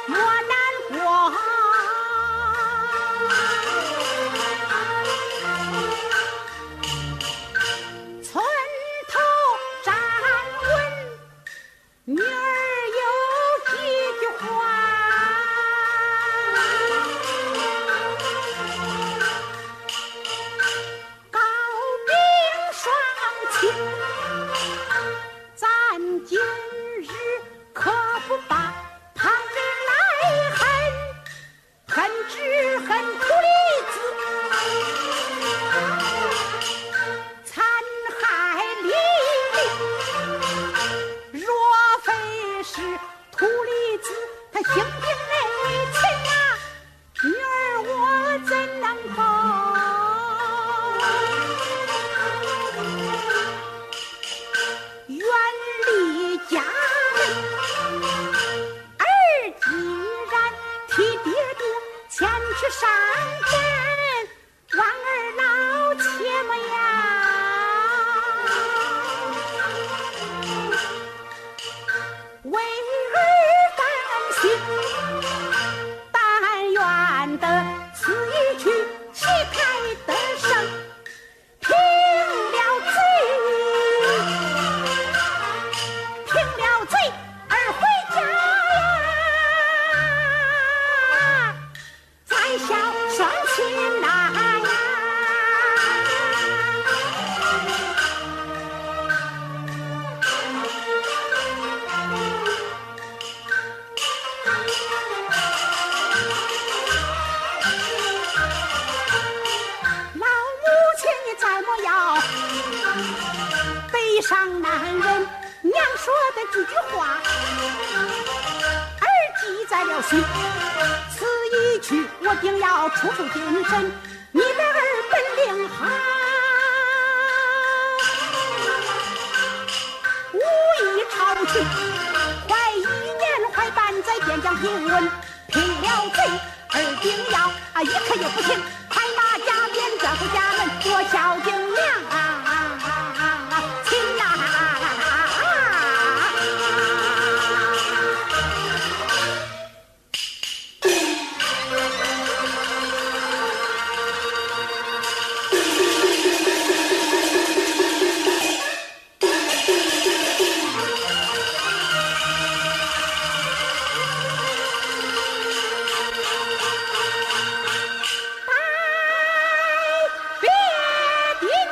莫难过。村头站稳，女儿有几句话。高兵双亲，咱今日可不把旁人来恨，恨只恨土里子残害黎民。若非是土里子他性病内情啊，女儿我怎能够远离家人？儿既然替爹爹前去上阵，望儿老切莫呀，为儿担心。但愿得此一去，旗开得胜，平了罪，儿回家呀，再孝双亲呐呀。老母亲你再莫要悲伤难忍，娘说的几句话，儿记在了心。此一去，我定要处处精神。你的儿本领好，武艺超群，快1年快半在边疆平稳，平了贼，儿定要一刻也不停，快马加鞭转回家门，我孝敬娘亲呐。别的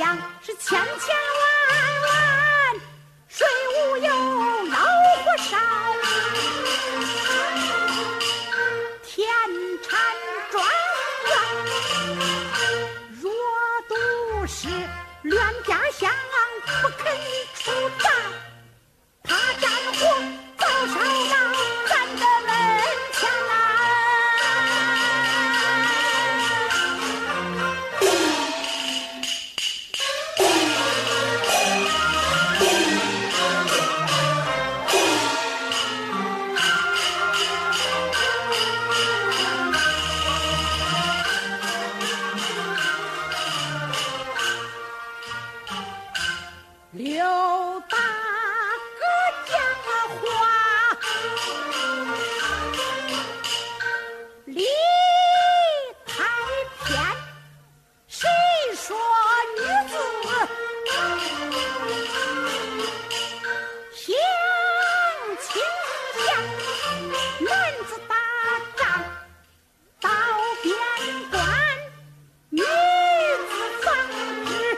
想是千千万万，谁无有老火烧？田产庄园，若都是乱家乡，不肯出战，怕战火早烧到咱的门前啊！刘大哥讲话，理太偏，谁说女子性情险？男子打仗到边关，女子防止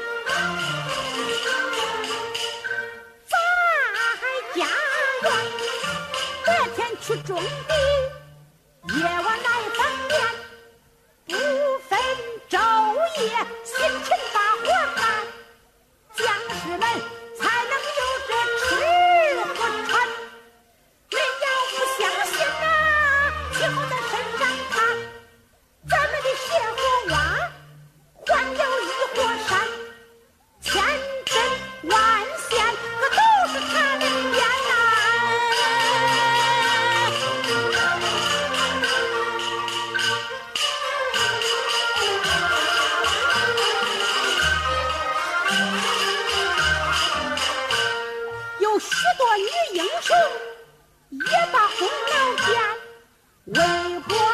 在家园。白天去种地，夜晚来放棉，不分昼夜，辛勤把活干，将士们才能有这吃和穿。人要不相信啊，以后在身上看，咱们的血和蛙还有一火山，千针万线，可都是他的鞭呐！有许多女英雄也把功劳减，为国